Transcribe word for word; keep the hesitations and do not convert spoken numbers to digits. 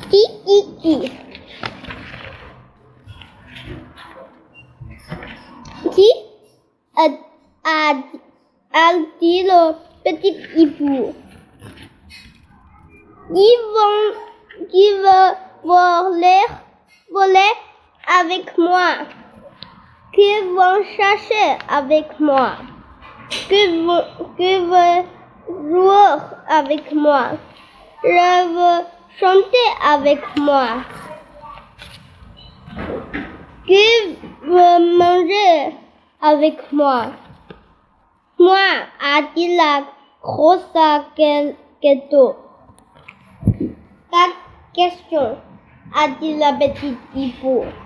Qui, qui, qui Qui a, a, a dit le petit hibou? Qui vont, qui veut voler, voler avec moi? Qui vont chercher avec moi? Qui veut, qui veut jouer avec moi? Je veux chanter avec moi. Qui veut manger avec moi? Moi, a dit la grosse gâteau. Ta question, a dit la petite hibou.